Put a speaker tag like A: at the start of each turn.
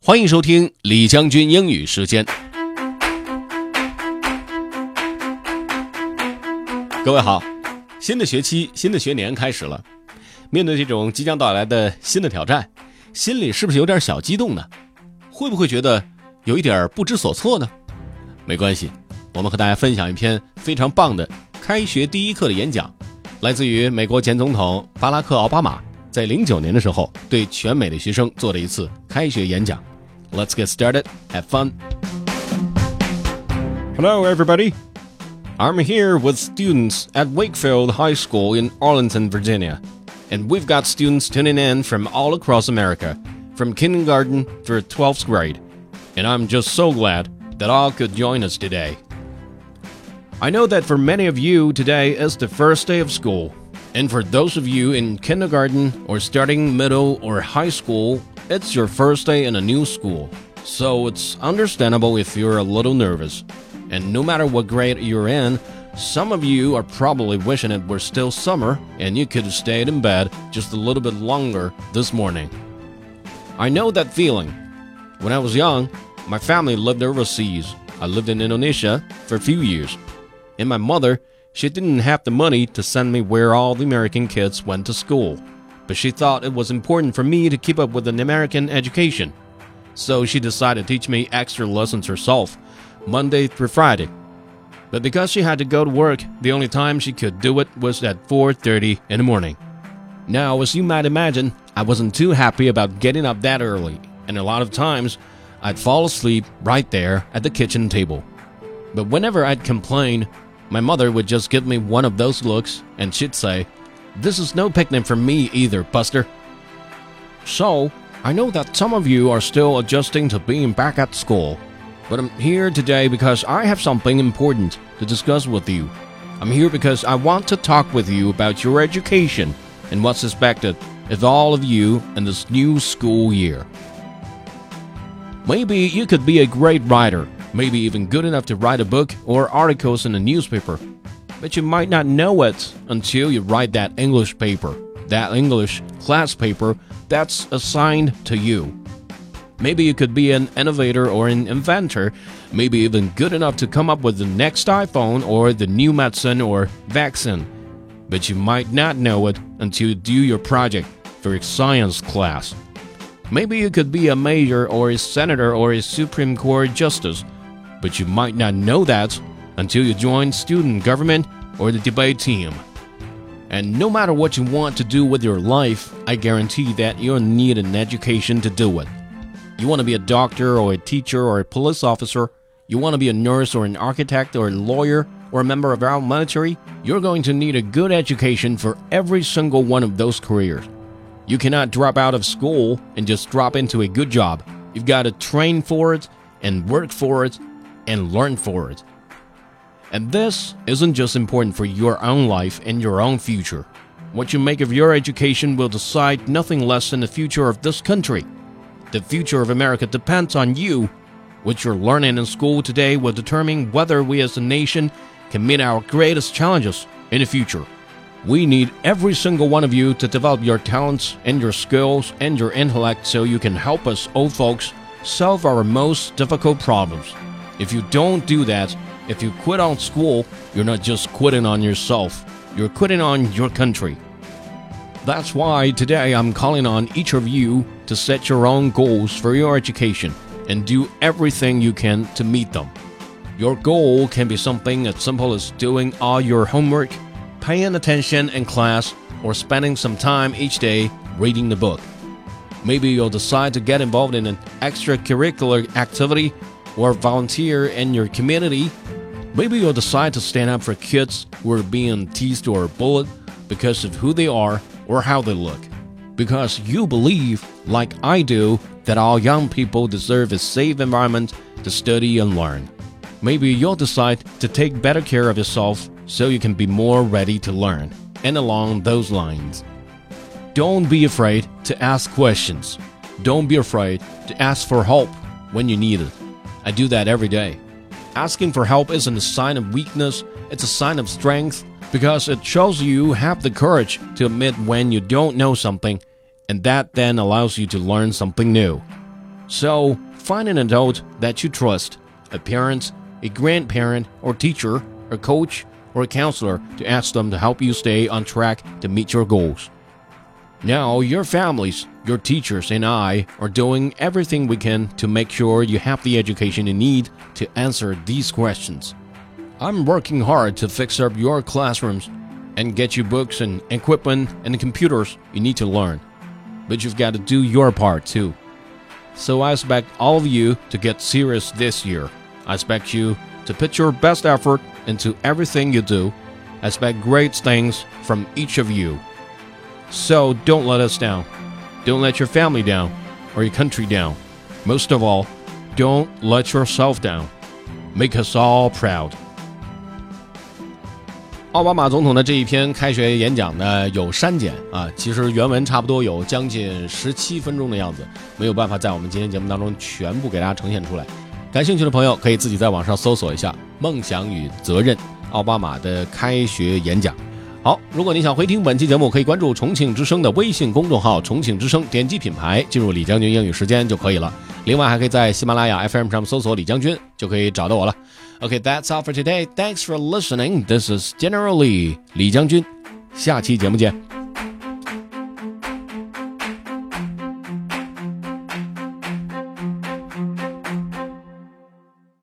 A: 欢迎收听李将军英语时间。各位好，新的学期、新的学年开始了。面对这种即将到来的新的挑战，心里是不是有点小激动呢？会不会觉得有一点不知所措呢？没关系，我们和大家分享一篇非常棒的开学第一课的演讲，来自于美国前总统巴拉克·奥巴马在09年的时候对全美的学生做的一次开学演讲。Let's get started. Have fun. Hello, everybody. I'm here with students at Wakefield High School in Arlington, Virginia. And we've got students tuning in from all across America, from kindergarten through 12th grade. And I'm just so glad that all could join us today. I know that for many of you, today is the first day of school. And for those of you in kindergarten or starting middle or high school, it's your first day in a new school. So it's understandable if you're a little nervous. And no matter what grade you're in, some of you are probably wishing it were still summer and you could have stayed in bed just a little bit longer this morning. I know that feeling. When I was young, my family lived overseas. I lived in Indonesia for a few years. And my mother, she didn't have the money to send me where all the American kids went to school. But she thought it was important for me to keep up with an American education. So she decided to teach me extra lessons herself, Monday through Friday. But because she had to go to work, the only time she could do it was at 4:30 in the morning. Now, as you might imagine, I wasn't too happy about getting up that early, and a lot of times, I'd fall asleep right there at the kitchen table. But whenever I'd complain, my mother would just give me one of those looks, and she'd say, "This is no picnic for me either, Buster." So, I know that some of you are still adjusting to being back at school. But I'm here today because I have something important to discuss with you. I'm here because I want to talk with you about your education and what's expected of all of you in this new school year. Maybe you could be a great writer, maybe even good enough to write a book or articles in a newspaper. But you might not know it until you write that English paper, that English class paper that's assigned to you. Maybe you could be an innovator or an inventor, maybe even good enough to come up with the next iPhone or the new medicine or vaccine. But you might not know it until you do your project for your science class. Maybe you could be a mayor or a senator or a Supreme Court justice, but you might not know that until you join student government or the debate team. And no matter what you want to do with your life, I guarantee that you'll need an education to do it. You want to be a doctor or a teacher or a police officer, you want to be a nurse or an architect or a lawyer or a member of our military, you're going to need a good education for every single one of those careers. You cannot drop out of school and just drop into a good job. You've got to train for it and work for it and learn for it. And this isn't just important for your own life and your own future. What you make of your education will decide nothing less than the future of this country. The future of America depends on you. What you're learning in school today will determine whether we as a nation can meet our greatest challenges in the future. We need every single one of you to develop your talents and your skills and your intellect so you can help us old folks solve our most difficult problems. If you don't do that, if you quit on school, you're not just quitting on yourself, you're quitting on your country. That's why today I'm calling on each of you to set your own goals for your education and do everything you can to meet them. Your goal can be something as simple as doing all your homework, paying attention in class, or spending some time each day reading the book. Maybe you'll decide to get involved in an extracurricular activity or volunteer in your community. Maybe you'll decide to stand up for kids who are being teased or bullied because of who they are or how they look. Because you believe, like I do, that all young people deserve a safe environment to study and learn. Maybe you'll decide to take better care of yourself so you can be more ready to learn, and along those lines. Don't be afraid to ask questions. Don't be afraid to ask for help when you need it. I do that every day. Asking for help isn't a sign of weakness, it's a sign of strength, because it shows you have the courage to admit when you don't know something, and that then allows you to learn something new. So, find an adult that you trust, a parent, a grandparent, or teacher, a coach, or a counselor to ask them to help you stay on track to meet your goals. Now, your families, your teachers, and I are doing everything we can to make sure you have the education you need to answer these questions. I'm working hard to fix up your classrooms and get you books and equipment and computers you need to learn. But you've got to do your part too. So I expect all of you to get serious this year. I expect you to put your best effort into everything you do. I expect great things from each of you. So don't let us down. Don't let your family down or your country down. Most of all, don't let yourself down. Make us all proud. 奥巴马总统的这一篇开学演讲呢有删减啊，其实原文差不多有将近17分钟的样子，没有办法在我们今天节目当中全部给大家呈现出来。感兴趣的朋友可以自己在网上搜索一下梦想与责任奥巴马的开学演讲。好，如果你想回听本期节目，可以关注重庆之声的微信公众号重庆之声，点击品牌进入李将军英语时间就可以了。另外还可以在喜马拉雅 FM 上搜索李将军就可以找到我了。Okay, that's all for today. Thanks for listening. This is General Lee, 李将军。下期节目见。